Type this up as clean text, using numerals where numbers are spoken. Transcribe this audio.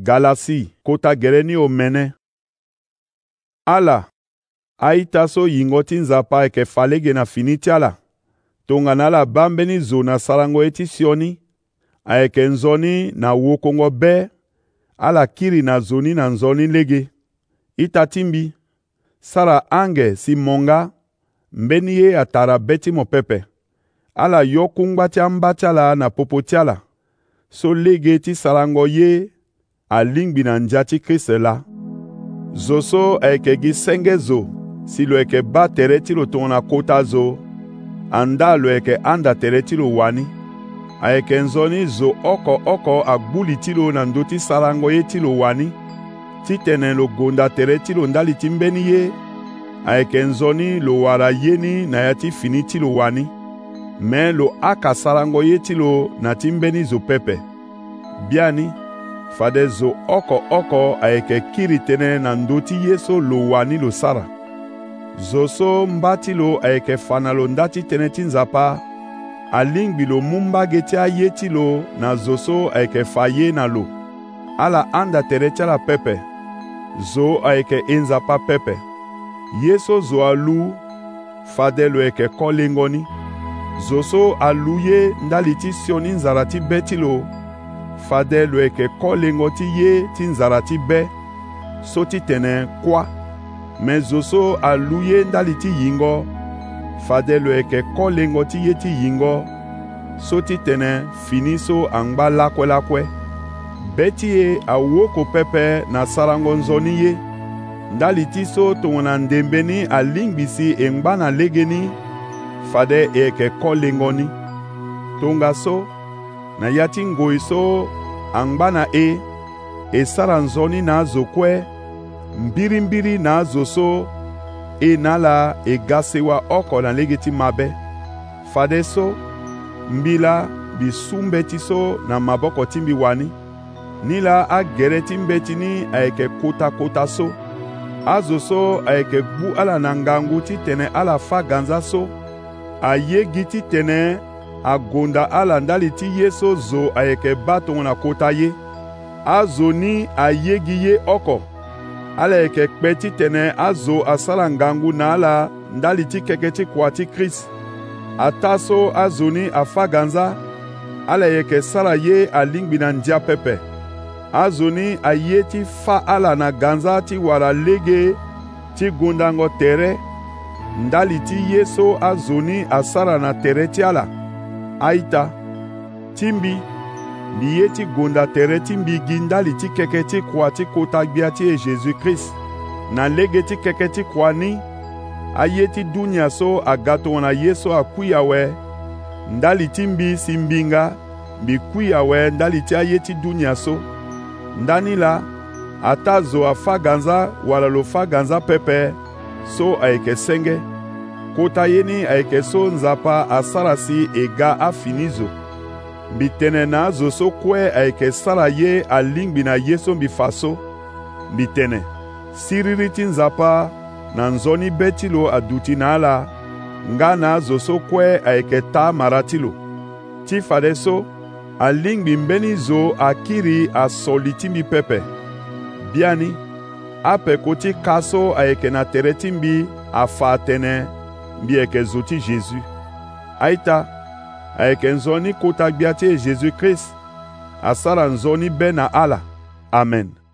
Galasi, kota gereni o mene. Ala, aita so yingoti nzapa eke falege na finiti ala. Tongana la bambeni zo na salango eti sioni. Aeke nzoni na wokongo be. Ala kiri na zoni na nzoni lege. Ita timbi. Sara ange si monga. Mbeni ye atara beti mo pepe. Ala yokungbati ambatiala na popotiala. So lege ti salango ye. Alingbi na njati Kriste la. Zoso eke gi senge zo. Si lo eke ba tereti lo tona kota zo. Anda lo eke anda tereti lo wani. Aeke nzoni zo oko agbuli tilo na ndoti salango ye tilo wani. Titene lo gonda tereti lo ndali timbeni ye. Aeke nzoni lo wara yeni na yati fini tilo wani. Men lo aka salango ye tilo na timbeni zo pepe. Biani. Fade zo oko aeke kiri tene na ndoti yeso lo wani lo sara. Zoso mbati lo aeke fana lo ndati tene tinzapa. Alingbi lo mumba geti a yeti lo na zoso aeke faye na lo. Ala anda tereti la pepe. Zo aeke enzapa pepe. Yeso zo alu. Fade lo eke kolengoni. Zoso alu ye ndaliti sioni nzarati beti lo. Fade lo eke kolengoti ye tinzarati be. Soti tene kwa. Men zoso aluye ndaliti yingo. Fade lo eke kolengoti ye ti yingo. Soti tene finiso angba lakwe. Beti ye awoko pepe na sarango nzoni ye. Ndaliti so tongona ndembeni alingbisi engba na legeni. Fade eke kolengoni. Tonga so. Na yati ngoi so angba na sara nzoni na zokwe. Mbirimbiri na zoso. Nala gasewa oko na legeti mabe. Fade so. Mbila bisumbeti so na maboko timbi wani. Nila gereti mbeti ni aeke kota so. Azoso aeke gbu ala nangangu ti tene ala fa ganza so. Aye giti tene agonda ala ndali ti yeso zo aeke baton na kota ye. Azoni aye giye oko. Ala eke kpeti tene azo asala ngangu na ala ndali ti keketi kwa ti Krist. Ataso azoni afaganza. Ala eke sara ye alingbi na ndia pepe. Azoni aye ti fa ala na ganza ti wara lege ti gondango tere. Ndali ti yeso azoni asara na tere ti ala. Aita. Timbi. Biye ti gonda tere timbi gindali ti keketi kwa ti kota gbia ti Jésus Christ. Na lege ti keketi kwa ni. Aye ti dunia so agato na yeso akuya we. Ndali timbi simbinga. Bi kuya we ndali ti aye ti dunia so. Ndani la. Atazo afaganza wala lo faganza pepe. So aeke senge. Kota yeni aeke so nzapa asarasi ega afinizo. Bitene na zoso kwe aeke sara ye alingbi na yeso bifaso. Bitene. Siririti nzapa na nzoni betilo aduti na ala. Nga na zoso kwe aeke ta maratilo. Ti fade so. Alingbi mbeni zo akiri asolitimbi pepe. Biani. Ape koti kaso aeke na teretimbi afa tene. Bi eke zoti Jésus. Aita. Aeke nzoni kota gbia ti Jésus Christ. Asara nzoni be na ala. Amen.